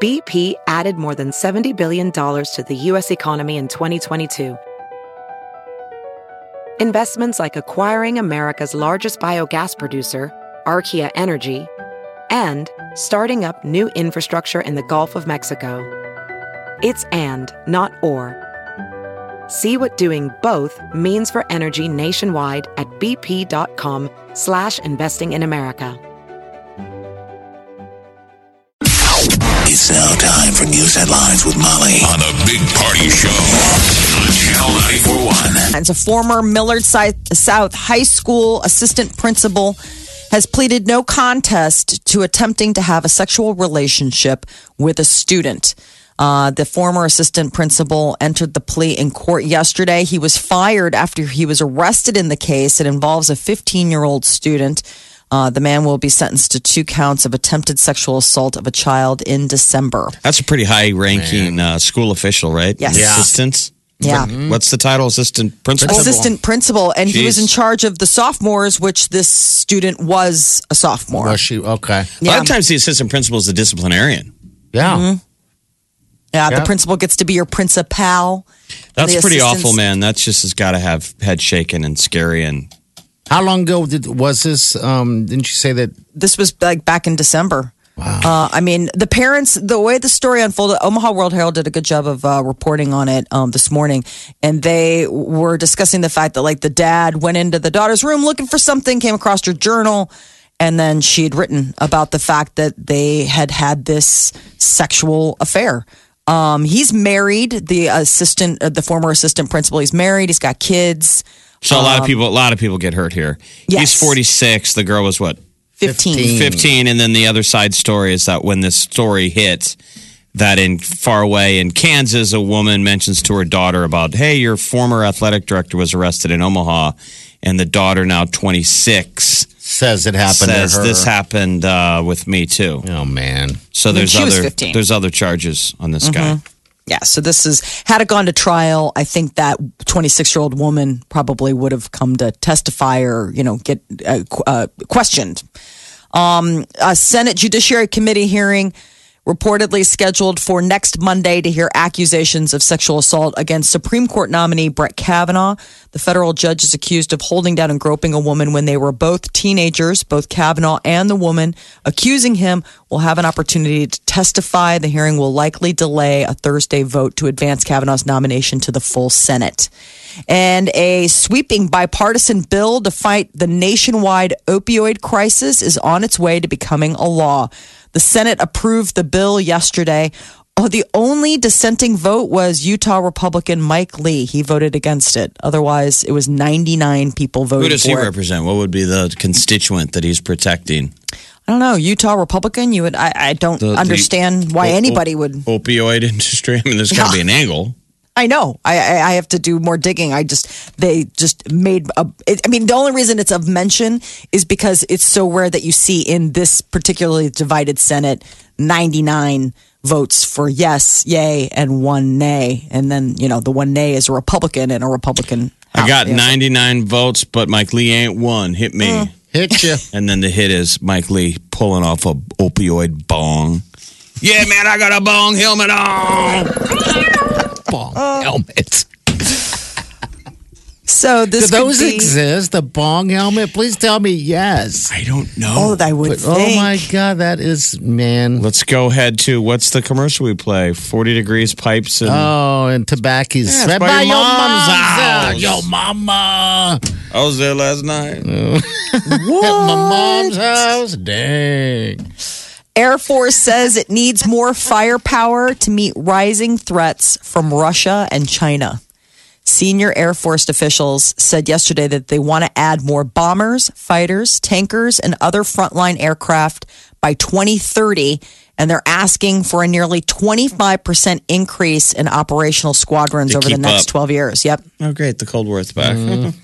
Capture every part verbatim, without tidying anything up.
B P added more than seventy billion dollars to the U S economy in twenty twenty-two. Investments like acquiring America's largest biogas producer, Archaea Energy, and starting up new infrastructure in the Gulf of Mexico. It's and, not or. See what doing both means for energy nationwide at bp.com slash investing in America. It's now time for news headlines with Molly on the Big Party Show on Channel ninety-four point one. It's a former Millard South High School assistant principal has pleaded no contest to attempting to have a sexual relationship with a student. Uh, the former assistant principal entered the plea in court yesterday. He was fired after he was arrested in the case. It involves a fifteen-year-old student. Uh, the man will be sentenced to two counts of attempted sexual assault of a child in December. That's a pretty high-ranking uh, school official, right? Yes. Yeah. Assistant? Yeah. What's the title? Assistant principal? Assistant principal. And Jeez. he was in charge of the sophomores, which this student was a sophomore. Was she? Okay. A lot of times the assistant principal is the disciplinarian. Yeah. Mm-hmm. Yeah, Yep. the principal gets to be your principal. That's The pretty assistants- awful, man. That's just has got to have head shaking and scary. And How long ago did was this? Um, didn't you say that? This was like back in December. Wow. Uh, I mean, the parents, the way the story unfolded, Omaha World Herald did a good job of uh, reporting on it um, this morning. And they were discussing the fact that, like, the dad went into the daughter's room looking for something, came across her journal, and then she had written about the fact that they had had this sexual affair. Um, he's married, the assistant, uh, the former assistant principal. He's married. He's got kids. so a lot of people, a lot of people get hurt here. Yes. He's forty-six. The girl was what? fifteen. fifteen. And then the other side story is that when this story hit, that in far away in Kansas, a woman mentions to her daughter about, hey, your former athletic director was arrested in Omaha. And the daughter, now twenty-six, Says it happened says to her. this happened uh, with me too. Oh man. So When there's she was other fifteen. there's other charges on this guy. Yeah, so this is, had it gone to trial, I think that twenty-six-year-old woman probably would have come to testify or, you know, get uh, qu- uh, questioned. Um, a Senate Judiciary Committee hearing reportedly scheduled for next Monday to hear accusations of sexual assault against Supreme Court nominee Brett Kavanaugh. The federal judge is accused of holding down and groping a woman when they were both teenagers. Both Kavanaugh and the woman accusing him will have an opportunity to testify. The hearing will likely delay a Thursday vote to advance Kavanaugh's nomination to the full Senate. And a sweeping bipartisan bill to fight the nationwide opioid crisis is on its way to becoming a law. The Senate approved the bill yesterday. Oh, the only dissenting vote was Utah Republican Mike Lee. He voted against it. Otherwise, it was ninety-nine people voted Who does for he it. represent? What would be the constituent that he's protecting? I don't know. Utah Republican? You would. I, I don't The- the understand why o- anybody o- would. Opioid industry. I mean, there's got to be an angle. I know. I, I I have to do more digging. I just they just made. A, it, I mean, the only reason it's of mention is because it's so rare that you see in this particularly divided Senate ninety-nine votes for yes, yay, and one nay, and then you know the one nay is a Republican and a Republican. I got House. ninety-nine votes, but Mike Lee ain't one. Hit me. Uh. Hit you. And then the hit is Mike Lee pulling off a opioid bong. Yeah, man, I got a bong helmet on. Bong helmet. So this Do those could be, exist? The bong helmet? Please tell me yes. I don't know. Oh, I would But, think. oh my God, that is man. Let's go ahead to what's the commercial we play? forty degrees pipes and Oh, and tobacco's. Yeah, it's by your mom's house. Your mama. I was there last night. At my mom's house. Dang. Air Force says it needs more firepower to meet rising threats from Russia and China. Senior Air Force officials said yesterday that they want to add more bombers, fighters, tankers, and other frontline aircraft by twenty thirty. And they're asking for a nearly twenty-five percent increase in operational squadrons To over the keep next up. twelve years. Yep. Oh, great. The Cold War's back.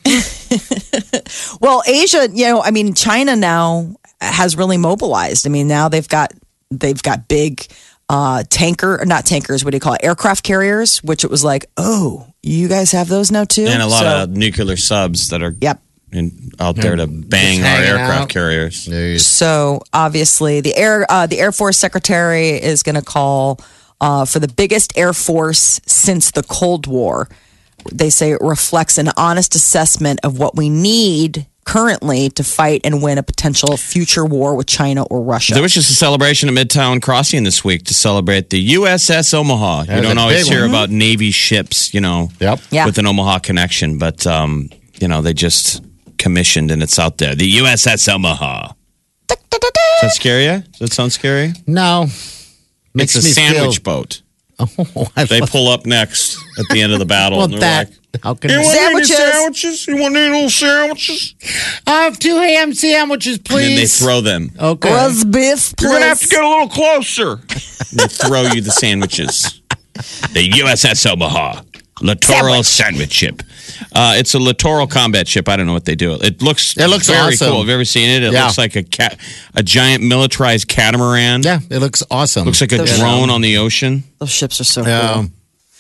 Well, Asia, you know, I mean, China now has really mobilized. I mean, now they've got they've got big uh, tanker, or not tankers, what do you call it? Aircraft carriers, which it was like, oh, you guys have those now too? And a lot So- of nuclear subs that are Yep. in, out there to bang Just our hanging aircraft out. carriers. There you- So obviously, the air uh, the Air Force Secretary is going to call uh, for the biggest Air Force since the Cold War. They say it reflects an honest assessment of what we need currently to fight and win a potential future war with China or Russia. There was just a celebration at Midtown Crossing this week to celebrate the U S S Omaha. That you was don't a always big hear one. about Navy ships, you know, Yep. Yeah. with an Omaha connection, but um, you know they just commissioned and it's out there. The U S S Omaha. Does that scare you? Does that sound scary? No. Makes it's a me sandwich feel, boat. Oh, I They love- pull up next at the end of the battle. well, and they're that. like, How can you I- want any Sandwiches. sandwiches? You want any little sandwiches? I have two ham sandwiches, And then they please. throw them. Okay. Roast beef, You're going to have to please. get a little closer. And they throw you the sandwiches. The U S S Omaha. Littoral sandwich ship. Uh, it's a littoral combat ship. I don't know what they do. It looks It looks very awesome. cool. Have you ever seen it? It Yeah. looks like a cat, a giant militarized catamaran. Yeah, it looks awesome. Looks like a Those- drone on the ocean. Those ships are so Yeah. cool.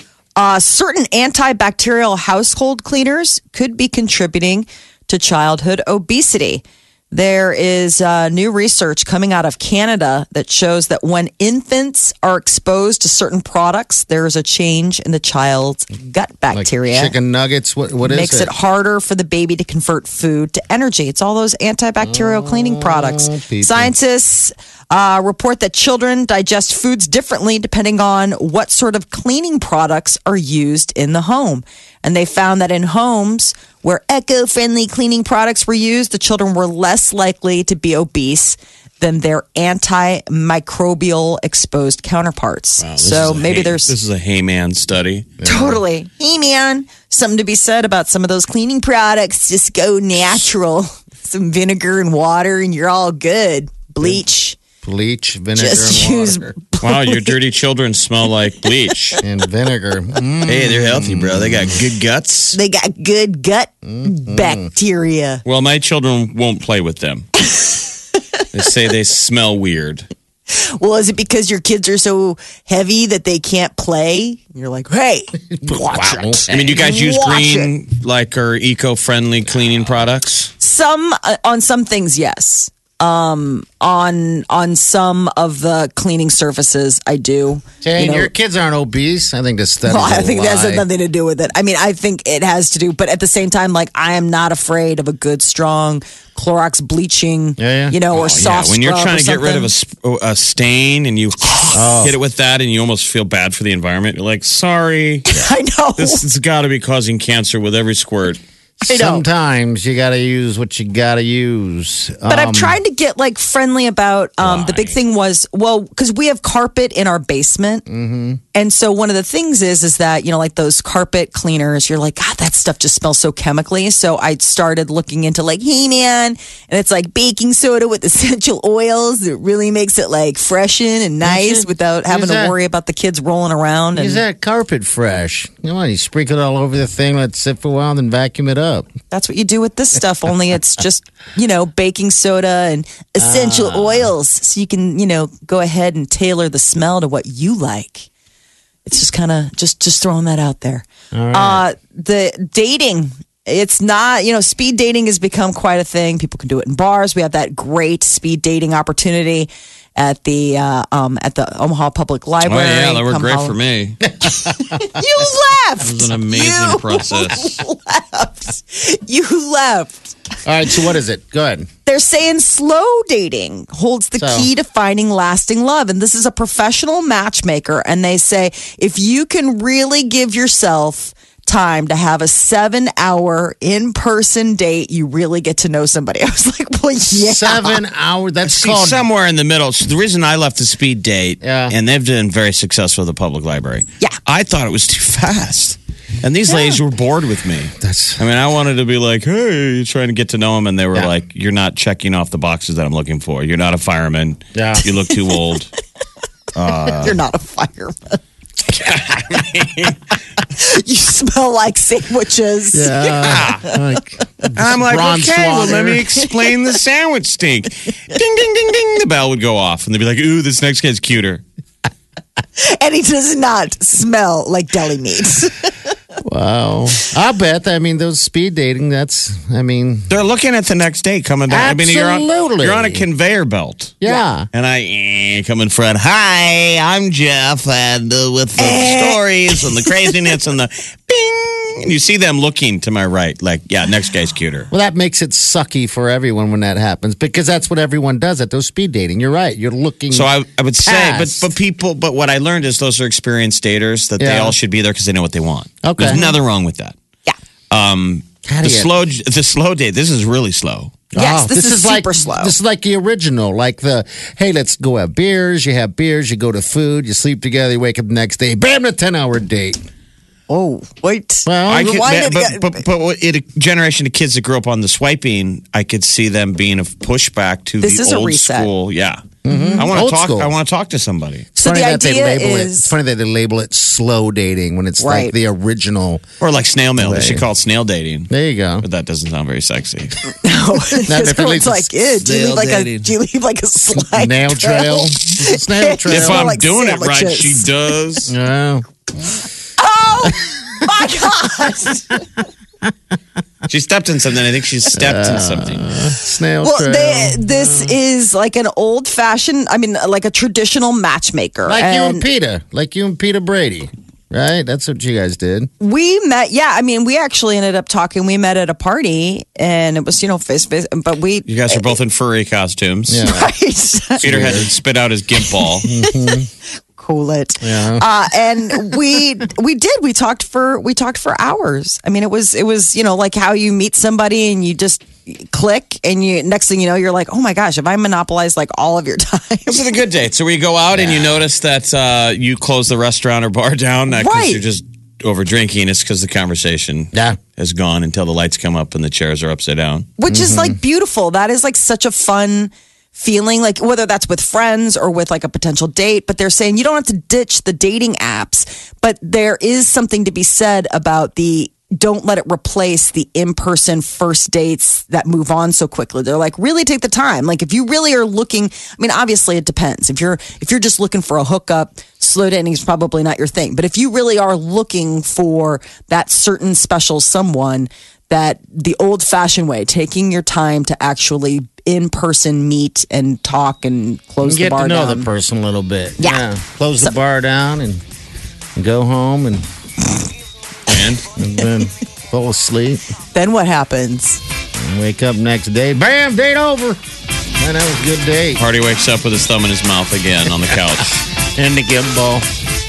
Uh, certain antibacterial household cleaners could be contributing to childhood obesity. There is uh, new research coming out of Canada that shows that when infants are exposed to certain products, there is a change in the child's gut Like bacteria. chicken nuggets. What, what is Makes it? it harder for the baby to convert food to energy. It's all those antibacterial cleaning products. people. Scientists uh, report that children digest foods differently depending on what sort of cleaning products are used in the home. And they found that in homes where eco-friendly cleaning products were used, the children were less likely to be obese than their antimicrobial exposed counterparts. Wow, this so is a maybe Hay- there's This is a Hayman study. Totally. Hey, man, something to be said about some of those cleaning products. Just go natural. Some vinegar and water, and you're all good. Bleach. Bleach, vinegar, Just and use. water. Wow, your dirty children smell like bleach. and vinegar. Mm. Hey, they're healthy, bro. They got good guts. They got good gut Mm-hmm. bacteria. Well, my children won't play with them. They say they smell weird. Well, is it because your kids are so heavy that they can't play? You're like, hey, watch it. I mean, do you guys use Watch green, like, or eco-friendly cleaning products? Some uh, on some things, yes. Um, on on some of the cleaning surfaces, I do. Jane, You know, your kids aren't obese. I think this study. Well, I think that has nothing to do with it. I mean, I think it has to do, but at the same time, like I am not afraid of a good, strong Clorox bleaching, Yeah, yeah. you know, or Oh, soft yeah, when you're scrub trying or to get rid of a, something. sp- a stain and you hit it with that and you almost feel bad for the environment. You're like, sorry, I know. this has got to be causing cancer with every squirt. I know. Sometimes you got to use what you got to use. But Um, I've tried to get like friendly about. Um, the big Why? thing was well because we have carpet in our basement, mm-hmm. and so one of the things is is that you know like those carpet cleaners, you're like God, that stuff just smells so chemically. So I started looking into like, hey man, and it's like baking soda with essential oils that really makes it like freshen and nice it. without having Use to that. worry about the kids rolling around. Use And that carpet fresh. You know what? You sprinkle it all over the thing, let it sit for a while, then vacuum it up. that's what you do with this stuff. Only it's just you know baking soda and essential oils, so you can you know go ahead and tailor the smell to what you like. It's just kind of just just throwing that out there. Uh, the dating, it's not you know speed dating has become quite a thing. People can do it in bars. We have that great speed dating opportunity at the uh, um, at the Omaha Public Oh, Library. yeah, that worked Come great home. for me. You left. It was an amazing You process. left. You left. All right, so what is it? Go ahead. They're saying slow dating holds the So? key to finding lasting love. And this is a professional matchmaker. And they say if you can really give yourself time to have a seven hour in person date, you really get to know somebody. I was like, well, yeah. Seven hours. That's See, called. somewhere in the middle. So the reason I left the speed date, Yeah. and they've been very successful at the public library. Yeah. I thought it was too fast. And these ladies were bored with me. That's I mean, I wanted to be like, hey, trying to get to know them. And they were Yeah. like, you're not checking off the boxes that I'm looking for. You're not a fireman. Yeah. You look too old. You're not a fireman. You smell like sandwiches. yeah. Like, I'm like, bronze okay, well, water. let me explain the sandwich stink. Ding, ding, ding, ding. The bell would go off. And they'd be like, ooh, this next guy's cuter. And he does not smell like deli meat. Wow. I bet. I mean, those speed dating, that's, I mean. They're looking at the next day coming down. Absolutely. I mean, you're on, you're on a conveyor belt. Yeah. And I eh, come in front. Hi, I'm Jeff. And uh, with the stories and the craziness and the bing. And you see them looking to my right, like, yeah, next guy's cuter. Well, that makes it sucky for everyone when that happens because that's what everyone does at those speed dating. You're right. You're looking. So I, I would say, but past. but people, but what I learned is those are experienced daters that they Yeah. all should be there because they know what they want. Okay. There's nothing wrong with that. Yeah. Um, How the do you- slow, the slow date. This is really slow. Yes, this, is, like, super slow. This is like the original, like the, hey, let's go have beers. You have beers, you go to food, you sleep together, you wake up the next day, bam, a ten-hour date. oh, wait. Well, I could, Rewind it but, again. but, but, but in a generation of kids that grew up on the swiping, I could see them being a pushback to This the is a old reset. school. Yeah, I want Old to talk. school. I want to talk to somebody, So funny the that they idea label it. is It's funny that they label it slow dating when it's Right. like the original. or like snail mail. They Way. should call it snail dating. There you go. But that doesn't sound very sexy. no, Not because if it everyone's leads to like, "Ew, do you leave stale like a dating. do you leave like a slide Nail trail. It's a snail trail. If Smell I'm like doing it right, sandwiches. she does. Yeah. Oh my gosh! She stepped in something. I think she stepped in something. Snail Well, trail. they, this is like an old fashioned. I mean, like a traditional matchmaker. like you and and Peter. Like you and Peter Brady. Right? That's what you guys did. we met. Yeah, I mean, we actually ended up talking. We met at a party, and it was you know face to face. But we, You guys are both in furry costumes. Yeah. right. Peter had to spit out his gimp ball. Cool it. Yeah. Uh, and we we did. We talked for we talked for hours. I mean, it was it was you know like how you meet somebody and you just click and you next thing you know you're like, oh my gosh, have I monopolized like all of your time? This is a good date. So where you go out and you notice that uh, you close the restaurant or bar down because Right. you're just over drinking. It's because the conversation Yeah. has gone until the lights come up and the chairs are upside down. Which is like beautiful. That is like such a fun feeling, like whether that's with friends or with like a potential date. But they're saying you don't have to ditch the dating apps, but there is something to be said about the don't let it replace the in-person first dates that move on so quickly. They're like, really take the time. Like if you really are looking, I mean, obviously it depends. If you're if you're just looking for a hookup, slow dating is probably not your thing. But if you really are looking for that certain special someone, that the old-fashioned way, taking your time to actually in-person meet and talk and close Get the bar to know down. the person a little bit. Yeah. Close the bar down and, and go home and, And and then fall asleep. Then what happens? And wake up next day. Bam! Date over. Man, that was a good date. Party wakes up with his thumb in his mouth again on the couch. And the gimbal.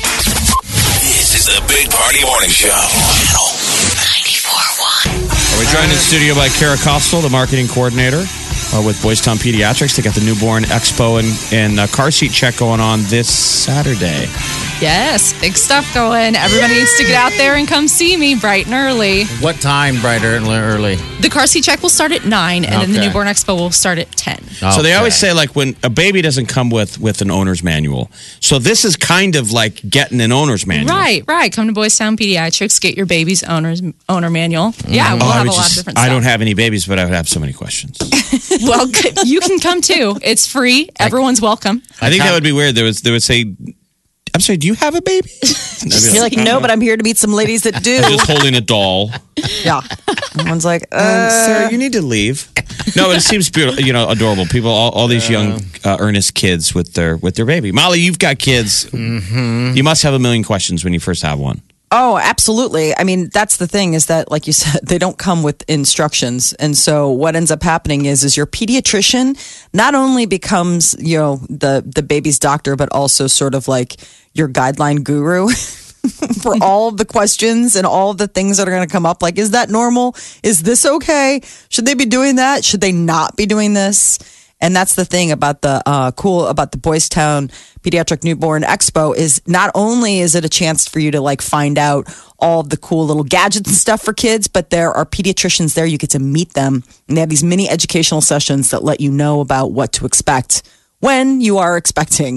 This is the Big Party Morning Show. Channel ninety-four point one. We're joined in studio by Kara Kostel, the marketing coordinator uh, with Boys Town Pediatrics. They got the Newborn Expo and, and uh, car seat check going on this Saturday. Yes, big stuff going. Everybody needs to get out there and come see me bright and early. What time, brighter and early? The car seat check will start at nine, and then the Okay. Newborn Expo will start at ten. So they always Okay. say, like, when a baby doesn't come with, with an owner's manual. So this is kind of like getting an owner's manual. Right, right. Come to Boys Town Pediatrics, get your baby's owner's owner manual. Yeah, we'll Oh, I, have would a lot just- of different I stuff. don't have any babies, but I would have so many questions. Well, you can come too. It's free. Everyone's welcome. I think that would be weird. There was they would say, "I'm sorry, do you have a baby?" And I'd be You're like, no, but I'm here to meet some ladies that do. I'm just holding a doll. Yeah. One's like, Um, uh, Sarah, you need to leave. No, but it seems beautiful. You know, adorable people. All, all these young, uh, earnest kids with their with their baby. Molly, you've got kids. Mm-hmm. You must have a million questions when you first have one. oh, absolutely. I mean, that's the thing is that, like you said, they don't come with instructions. And so what ends up happening is, is your pediatrician not only becomes, you know, the, the baby's doctor, but also sort of like your guideline guru for all of the questions and all of the things that are going to come up. Like, is that normal? Is this okay? Should they be doing that? Should they not be doing this? And that's the thing about the uh, cool about the Boys Town Pediatric Newborn Expo is not only is it a chance for you to like find out all of the cool little gadgets and stuff for kids, but there are pediatricians there. You get to meet them, and they have these mini educational sessions that let you know about what to expect when you are expecting.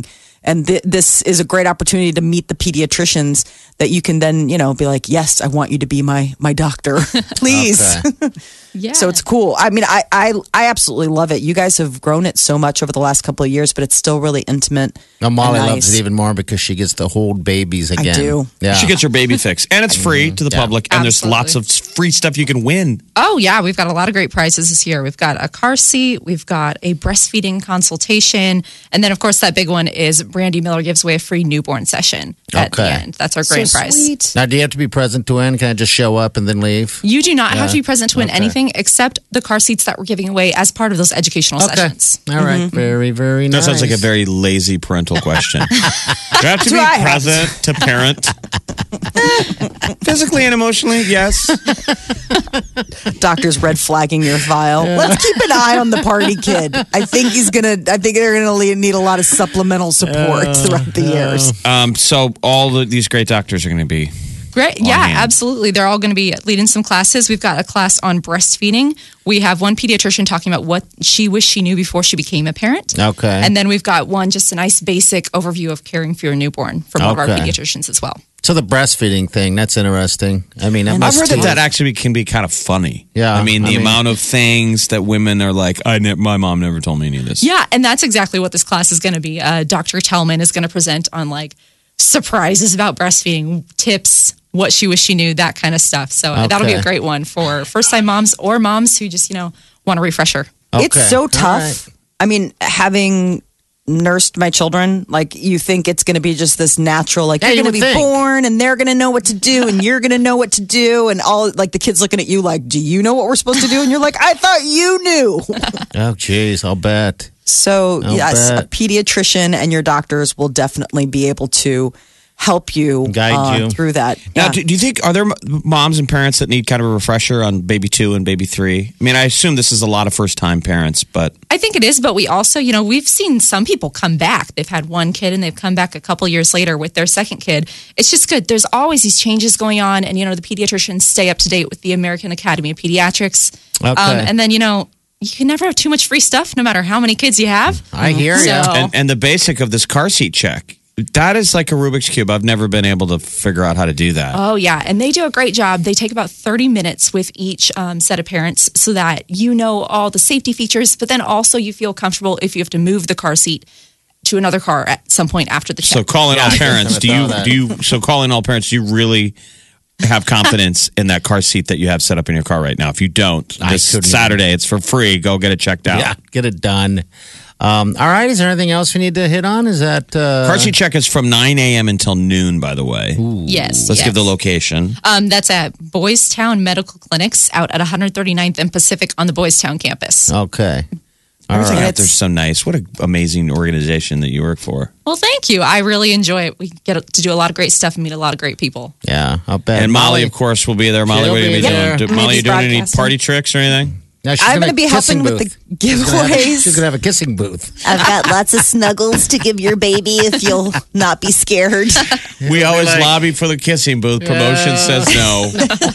And th- this is a great opportunity to meet the pediatricians that you can then, you know, be like, yes, I want you to be my my doctor, please. Yeah. So it's cool. I mean, I, I I absolutely love it. You guys have grown it so much over the last couple of years, but it's still really intimate. Now, Molly and loves nice. it even more because she gets to hold babies again. do. Yeah. She gets her baby fix, and it's free to the Yeah. public, and Absolutely. there's lots of free stuff you can win. Oh, yeah. We've got a lot of great prizes this year. We've got a car seat. We've got a breastfeeding consultation. And then, of course, that big one is Brandy Miller gives away a free newborn session at the Okay. end. That's our grand so prize. sweet. Now, do you have to be present to win? Can I just show up and then leave? You do not have to Yeah. be present to win Okay. anything except the car seats that we're giving away as part of those educational sessions. All right. Very, very That nice. sounds like a very lazy parental question. Do you have to Do be I have present to parent? Physically and emotionally, yes. Doctor's red flagging your file. Let's keep an eye on the party kid. I think he's gonna. I think they're gonna need a lot of supplemental support throughout the years. Um, so all the, these great doctors are going to be. Great. Yeah, hand. absolutely. They're all going to be leading some classes. We've got a class on breastfeeding. We have one pediatrician talking about what she wished she knew before she became a parent. Okay. And then we've got one, just a nice basic overview of caring for your newborn from one of our Okay. pediatricians as well. So the breastfeeding thing, that's interesting. I mean, that I've must heard that be- that actually can be kind of funny. Yeah, I mean, the I mean- amount of things that women are like, I ne- my mom never told me any of this. Yeah, and that's exactly what this class is going to be. Uh, Doctor Tellman is going to present on like surprises about breastfeeding, tips, what she wished she knew, that kind of stuff. So uh, that'll be a Okay. great one for first-time moms or moms who just, you know, want a refresher. It's Okay. so All tough. right. I mean, having nursed my children, like you think it's going to be just this natural, like Yeah, you're you going to would be think. born and they're going to know what to do and you're going to know what to do and all like the kids looking at you like, do you know what we're supposed to do? And you're like, I thought you knew. Oh, geez, I'll bet. So I'll yes, bet. a pediatrician and your doctors will definitely be able to help you Guide uh, you. through that. Now, Yeah. do, do you think, are there m- moms and parents that need kind of a refresher on baby two and baby three? I mean, I assume this is a lot of first time parents, but I think it is, but we also, you know, we've seen some people come back. They've had one kid and they've come back a couple years later with their second kid. It's just good. There's always these changes going on, and you know, the pediatricians stay up to date with the American Academy of Pediatrics. Okay. Um, and then, you know, you can never have too much free stuff, no matter how many kids you have. I hear So- you. and, and the basic of this car seat check, that is like a Rubik's Cube. I've never been able to figure out how to do that. Oh, yeah. And they do a great job. They take about thirty minutes with each um, set of parents so that you know all the safety features, but then also you feel comfortable if you have to move the car seat to another car at some point after the check. So calling Yeah, all I guess parents, I do would you throw that. do you so calling all parents, do you really have confidence in that car seat that you have set up in your car right now? If you don't, I this couldn't Saturday it's for free. Go get it checked out. Yeah, get it done. Um, all right, is there anything else we need to hit on? Is that uh, Car seat check is from nine a.m. until noon, by the way. Yes. Let's yes. give the location. Um, that's at Boys Town Medical Clinics out at one thirty-ninth and Pacific on the Boys Town campus. Okay. All Everything right. out there's so nice. What an amazing organization that you work for. Well, thank you. I really enjoy it. We get to do a lot of great stuff and meet a lot of great people. Yeah, I'll bet. And Molly, of course, will be there. Molly, She'll what are you be going to be there. doing? I'm Molly, gonna you be doing any broadcasting. party tricks or anything? No, she's I'm gonna going to be kissing helping with booth. the She's gonna have- giveaways. She's gonna have a kissing booth. I've got lots of snuggles to give your baby if you'll not be scared. We always like- lobby for the kissing booth. Promotion says no.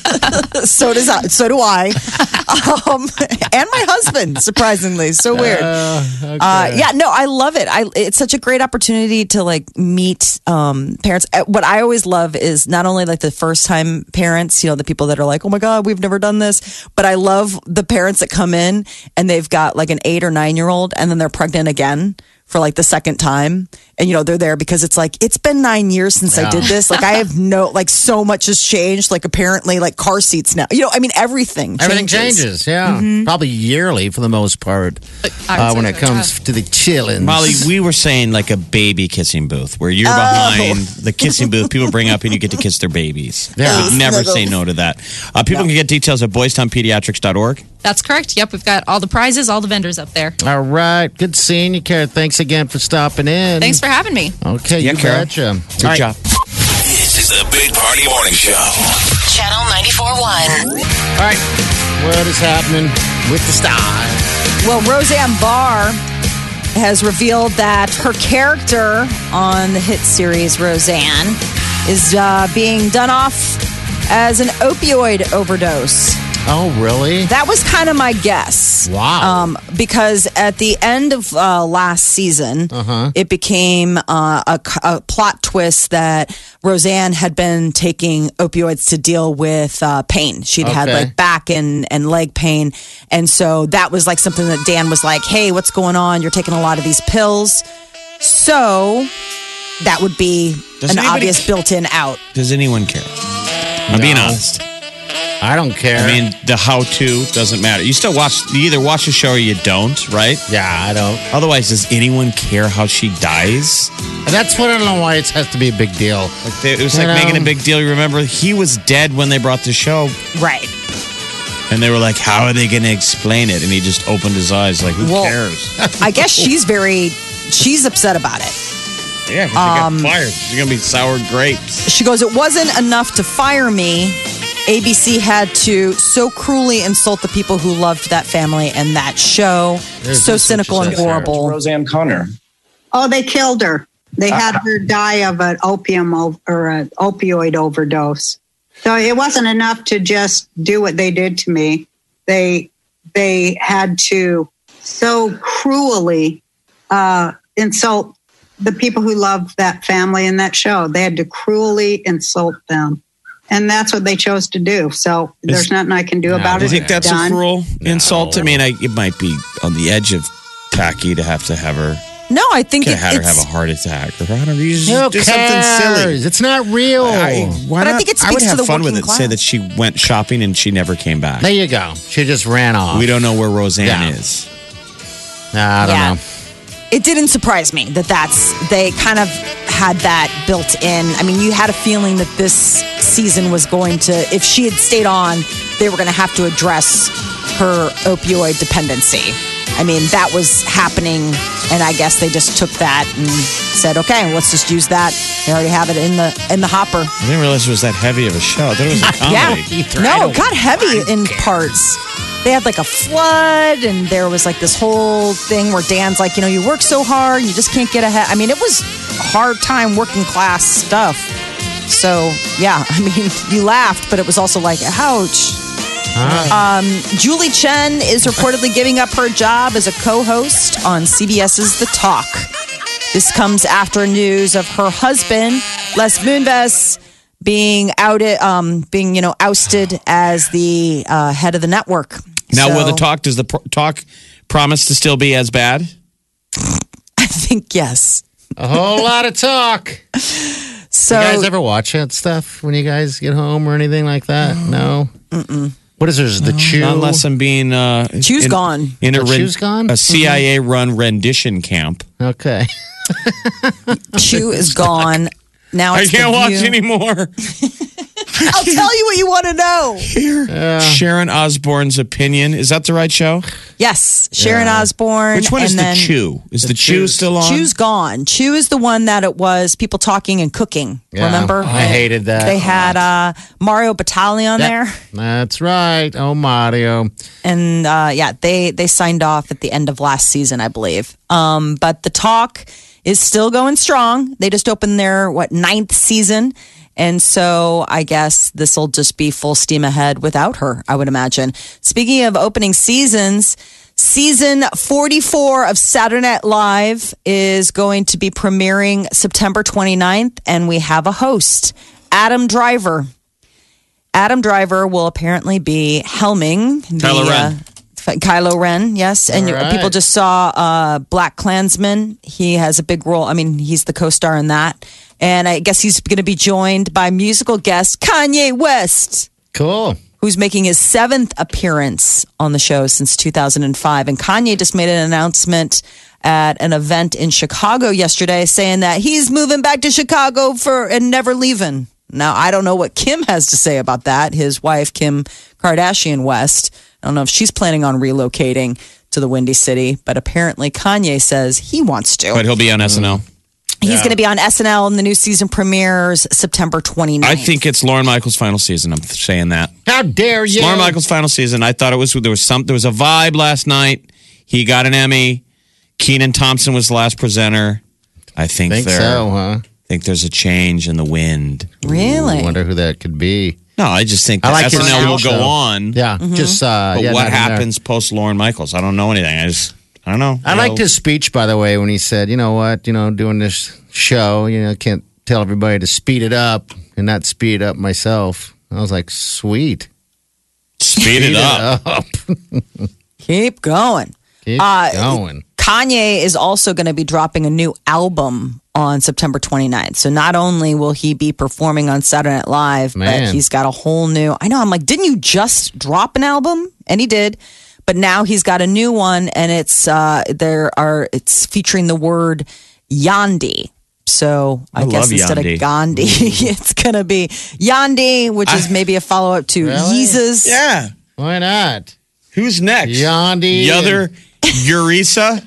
So does I, so do I, um, and my husband. Surprisingly, so weird. Uh, yeah, no, I love it. I it's such a great opportunity to like meet um, parents. Uh, What I always love is not only like the first time parents, you know, the people that are like, oh my god, we've never done this, but I love the parents that come in and they've got like an eight or nine year old, and then they're pregnant again for like the second time. And, you know, they're there because it's like, it's been nine years since I Yeah. did this. Like, I have no, like, so much has changed. Like, apparently, like, car seats now. You know, I mean, everything Everything changes. changes, yeah. Probably yearly for the most part I uh, would when say it so, comes to the chillin'. Molly, we were saying like a baby kissing booth where you're behind the kissing booth. People bring up and you get to kiss their babies. Yeah. I would never Snuggles. say no to that. Uh, people can get details at boys town pediatrics dot org. That's correct. Yep, we've got all the prizes, all the vendors up there. All right. Good seeing you, Kara. Thanks again for stopping in. Thanks for having me. Okay, Yeah, you Kara. betcha. Good All right. job. This is the Big Party Morning Show. Channel ninety-four point one. All right. What is happening with the stars? Well, Roseanne Barr has revealed that her character on the hit series Roseanne is uh, being done off as an opioid overdose. Oh, really? That was kind of my guess. Wow. Um, because at the end of uh, last season, Uh-huh. it became uh, a, a plot twist that Roseanne had been taking opioids to deal with uh, pain. She'd had Okay. like back and, and leg pain. And so that was like something that Dan was like, hey, what's going on? You're taking a lot of these pills. So that would be Does an anybody obvious ca- built-in out. Does anyone care? I'm being honest. I don't care. I mean, the how-to doesn't matter. You still watch. You either watch the show or you don't, right? yeah, I don't. Otherwise, does anyone care how she dies? And that's what I don't know why it has to be a big deal. Like they, it was You like know. making a big deal. You remember he was dead when they brought the show, Right. and they were like, "How are they going to explain it?" And he just opened his eyes, like, "Who Well, cares?" I guess she's very, she's upset about it. Yeah, because Um, she got fired. She's going to be sour grapes. She goes, it wasn't enough to fire me. A B C had to so cruelly insult the people who loved that family and that show. There's so this cynical and what she said. horrible. Roseanne Connor. Oh, they killed her. They had her die of an opium o- or an opioid overdose. So it wasn't enough to just do what they did to me. They they had to so cruelly uh, insult the people who loved that family and that show. They had to cruelly insult them. And that's what they chose to do. So there's nothing I can do about Do it. you think It's that's done. a cruel insult? I mean, I, it might be on the edge of tacky to have to have her. No, I think Could it, have had her it's, have a heart attack, or I don't know, you just Who do something silly. cares? It's not real. I, why But I not? think it I would speaks to have the fun with working it. Say class. that she went shopping and she never came back. there you go. She just ran off. We don't know where Roseanne Yeah. is. Nah, I don't Yeah. know. it didn't surprise me that that's, they kind of had that built in. I mean, you had a feeling that this season was going to, if she had stayed on, they were going to have to address her opioid dependency. I mean, that was happening, and I guess they just took that and said, "Okay, let's just use that." They already have it in the in the hopper. I didn't realize it was that heavy of a show. I thought it was a comedy. Yeah, no, it got heavy in parts. They had like a flood, and there was like this whole thing where Dan's like, you know, you work so hard, you just can't get ahead. I mean, it was hard time working class stuff. So yeah, I mean, you laughed, but it was also like, ouch. Um, Julie Chen is reportedly giving up her job as a co-host on C B S's The Talk. This comes after news of her husband, Les Moonves, being outed, um, being you know ousted as the uh, head of the network. Now, So, will the talk? Does the pro- talk promise to still be as bad? I think yes. A whole lot of talk. So you guys ever watch that stuff when you guys get home or anything like that? No. Mm-mm. What is there's the Chew? Not unless I'm being uh, Chew's in, gone. in a Oh, Chew's gone? a C I A run rendition camp. Okay. Chew is gone. Now I it's can't The watch View. anymore. I'll tell you what you want to know. Here, Sharon Osbourne's opinion. Is that the right show? Yes, Sharon Osbourne. Which one and is the then Chew? Is the, Chew Chew's- still on? Chew's gone. Chew is the one that it was people talking and cooking. Yeah, Remember? I hated that. They had uh, Mario Batali on Yep. there, That's right. Oh, Mario. and uh, yeah, they they signed off at the end of last season, I believe. Um, but the talk is still going strong. They just opened their what ninth season. And so I guess this will just be full steam ahead without her, I would imagine. Speaking of opening seasons, season forty-four of Saturday Night Live is going to be premiering September twenty-ninth, and we have a host, Adam Driver. Adam Driver will apparently be helming the, Kylo Ren. Uh, Kylo Ren, yes. And All you- right. people just saw uh, Black Klansman. He has a big role. I mean, he's the co-star in that. And I guess he's going to be joined by musical guest Kanye West, Cool. who's making his seventh appearance on the show since two thousand five. And Kanye just made an announcement at an event in Chicago yesterday saying that he's moving back to Chicago for and never leaving. Now, I don't know what Kim has to say about that. His wife, Kim Kardashian West. I don't know if she's planning on relocating to the Windy City, but apparently Kanye says he wants to. But he'll be on S N L. He's going to be on S N L, and the new season premieres September twenty-ninth. I think it's Lauren Michaels' final season. I'm saying that. How dare you? Lauren Michaels' final season. I thought it was there was some there was a vibe last night. He got an Emmy. Kenan Thompson was the last presenter. I think Think there. so, huh? I think there's a change in the wind. Really? I wonder who that could be. No, I just think I that like S his N L will show. go on. Yeah, just uh, But yeah, what not in there. happens post Lauren Michaels? I don't know anything. I just, I don't know. I You liked know, his speech, by the way, when he said, "You know what? You know, doing this show, you know, can't tell everybody to speed it up and not speed it up myself." I was like, "Sweet, speed it up. up. Keep going. Keep Uh, going." Kanye is also going to be dropping a new album on September twenty-ninth. So not only will he be performing on Saturday Night Live, Man. but he's got a whole new. I know. I'm like, didn't you just drop an album? And he did. But now he's got a new one, and it's uh, there are it's featuring the word Yandi. So I, I guess love instead Yandi. of Gandhi, it's gonna be Yandi, which is maybe a follow up to Really? Yeezus. Yeah. Why not? Who's next? Yandi. The other Eureka?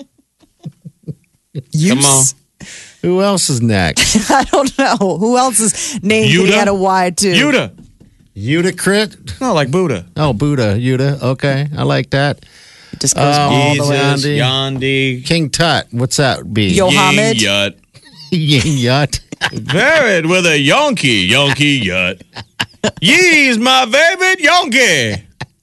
Come on. Who else is next? I don't know who else's name he Yuta? had a Y too. Yuta. Udacrit? No, like Buddha. Oh, Buddha. Yuda. Okay, I like that. It just goes all the way. Jesus, Yandi. Yandi. King Tut. What's that be? Yo- Mohammed? Ying Yut. Ying Yut. Married with a Yonky, Yonky Yut. Ye's my favorite Yonky.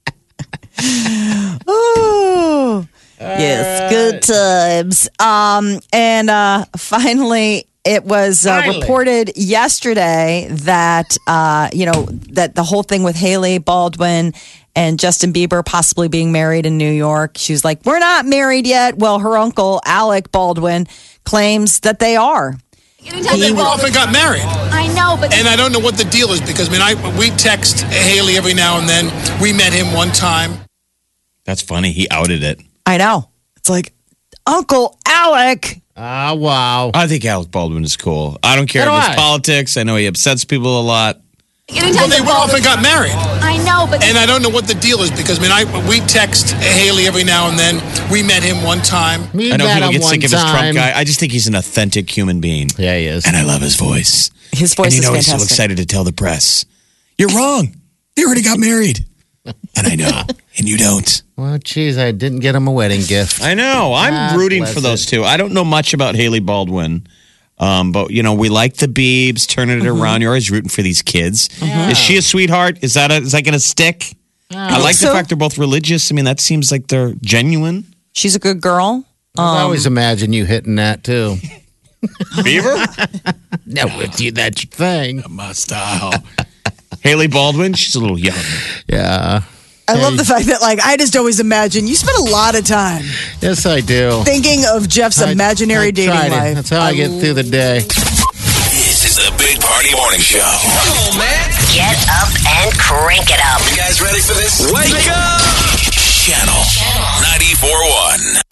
Ooh. Yes, good times. Um, and uh, finally, it was uh, Finally. reported yesterday that uh, you know that the whole thing with Haley Baldwin and Justin Bieber possibly being married in New York. She was like, "We're not married yet." Well, her uncle Alec Baldwin claims that they are. They often got married. I know, but And I don't know what the deal is because, I mean, I we text Haley every now and then. We met him one time. That's funny. He outed it. I know. It's like Uncle Alec. Ah, wow. I think Alec Baldwin is cool. I don't care So do if it's I. politics. I know he upsets people a lot. Well, they often got married. I know, but And I don't know what the deal is because, I mean, I we text Haley every now and then. We met him one time. We I know met people him get one sick of his Trump time. guy. I just think he's an authentic human being. Yeah, he is. And I love his voice. His voice and you is know he's so fantastic. excited to tell the press, "You're wrong. They already got married." And I know. And you don't. Well, geez, I didn't get him a wedding gift. I know. I'm God rooting bless for those it. two. I don't know much about Haley Baldwin. Um, but you know, we like the Biebs turning it around. You're always rooting for these kids. Is she a sweetheart? Is that a, is that going to stick? I like so. the fact they're both religious. I mean, that seems like they're genuine. She's a good girl. I always imagine you hitting that too. Beaver, No, with you, that's your thing. my style. Haley Baldwin, she's a little young. Yeah. I love the fact that, like, I just always imagine you spend a lot of time Yes, I do. thinking of Jeff's I- imaginary I dating tried it. life. That's how I, get through the day. This is the Big Party Morning Show. Come on, man. Get up and crank it up. You guys ready for this? Wake up! Channel